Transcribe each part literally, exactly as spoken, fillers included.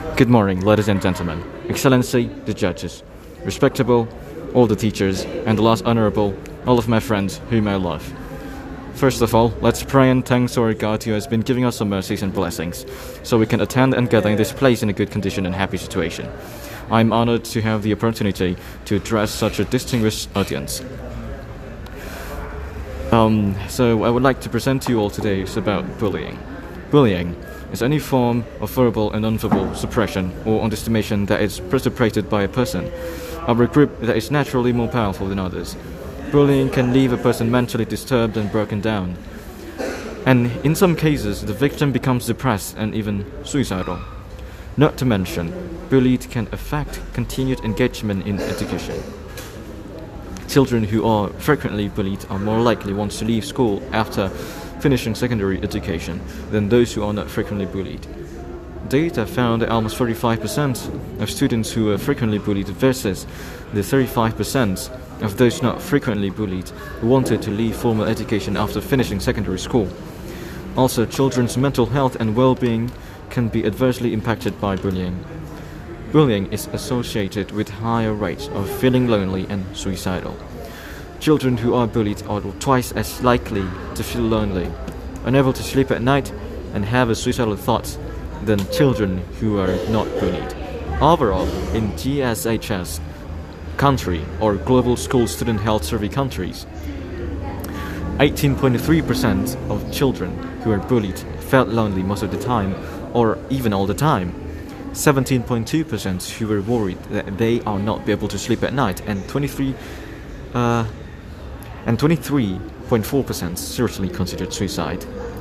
Good morning, ladies and gentlemen, Excellency, the judges, respectable, all the teachers, and the last honorable, all of my friends whom I love. First of all, let's pray and thanks our God who has been giving us some mercies and blessings, so we can attend and gather in this place in a good condition and happy situation. I am honored to have the opportunity to address such a distinguished audience. Um, so I would like to present to you all today is about bullying. Bullying is any form of verbal and nonverbal suppression or underestimation that is perpetrated by a person of a group that is naturally more powerful than others. Bullying can leave a person mentally disturbed and broken down, and in some cases the victim becomes depressed and even suicidal. Not to mention, bullied can affect continued engagement in education. Children who are frequently bullied are more likely want to leave school after finishing secondary education than those who are not frequently bullied. Data found that almost forty-five percent of students who are frequently bullied versus the thirty-five percent of those not frequently bullied who wanted to leave formal education after finishing secondary school. Also, children's mental health and well-being can be adversely impacted by bullying. Bullying is associated with higher rates of feeling lonely and suicidal. Children who are bullied are twice as likely to feel lonely, unable to sleep at night, and have a suicidal thoughts than children who are not bullied. Overall, in G S H S country or Global School Student Health Survey countries, eighteen point three percent of children who are bullied felt lonely most of the time or even all the time. seventeen point two percent who were worried that they are not be able to sleep at night, and twenty-three uh, and twenty-three point four percent seriously considered suicide,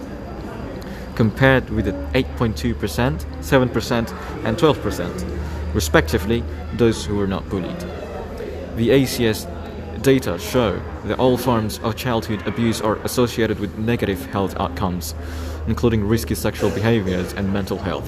compared with the eight point two percent, seven percent, and twelve percent, respectively, those who were not bullied. The A C S data show that all forms of childhood abuse are associated with negative health outcomes, including risky sexual behaviors and mental health.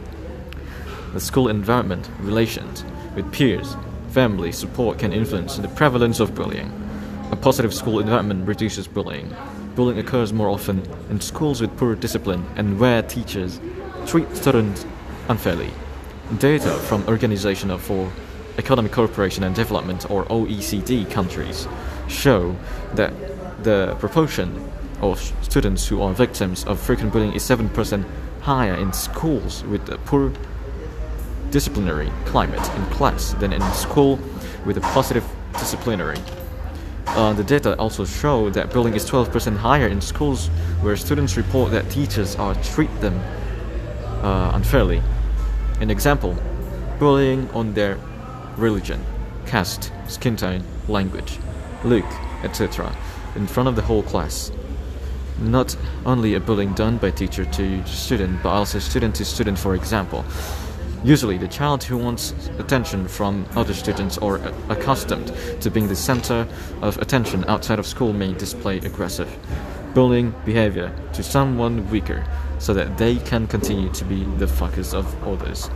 The school environment, relations with peers, family support can influence the prevalence of bullying. A positive school environment reduces bullying. Bullying occurs more often in schools with poor discipline and where teachers treat students unfairly. Data from Organization for Economic Cooperation and Development, or O E C D countries, show that the proportion of students who are victims of frequent bullying is seven percent higher in schools with a poor disciplinary climate in class than in school with a positive disciplinary. Uh, the data also show that bullying is twelve percent higher in schools where students report that teachers are treat them uh, unfairly. An example, bullying on their religion, caste, skin tone, language, look, et cetera in front of the whole class. Not only a bullying done by teacher to student, but also student to student, for example. Usually, the child who wants attention from other students or accustomed to being the center of attention outside of school may display aggressive, bullying behavior to someone weaker so that they can continue to be the focus of others.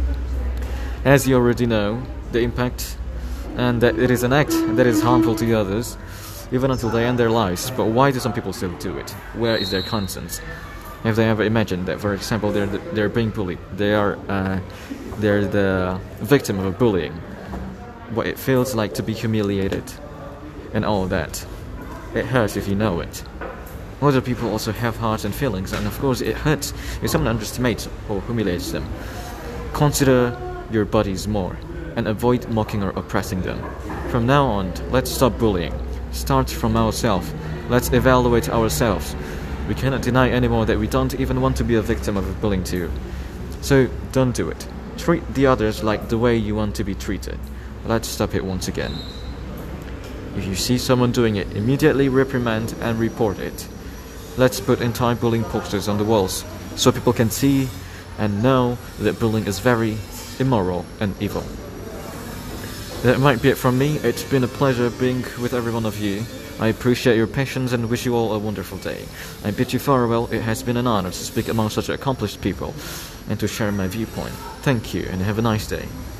As you already know, the impact and that it is an act that is harmful to others, even until they end their lives. But why do some people still do it? Where is their conscience? Have they ever imagined that, for example, they're they're being bullied, they are uh, they're the victim of a bullying, what it feels like to be humiliated, and all that? It hurts if you know it. Other people also have hearts and feelings, and of course it hurts if someone underestimates or humiliates them. Consider your bodies more, and avoid mocking or oppressing them. From now on, let's stop bullying. Start from ourselves. Let's evaluate ourselves. We cannot deny anymore that we don't even want to be a victim of bullying too. So don't do it. Treat the others like the way you want to be treated. Let's stop it once again. If you see someone doing it, immediately reprimand and report it. Let's put anti-bullying posters on the walls so people can see and know that bullying is very immoral and evil. That might be it from me. It's been a pleasure being with every one of you. I appreciate your patience and wish you all a wonderful day. I bid you farewell. It has been an honor to speak among such accomplished people and to share my viewpoint. Thank you and have a nice day.